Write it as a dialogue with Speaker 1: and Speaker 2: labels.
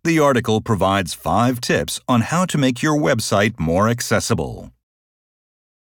Speaker 1: The article provides 5 tips on how to make your website more accessible.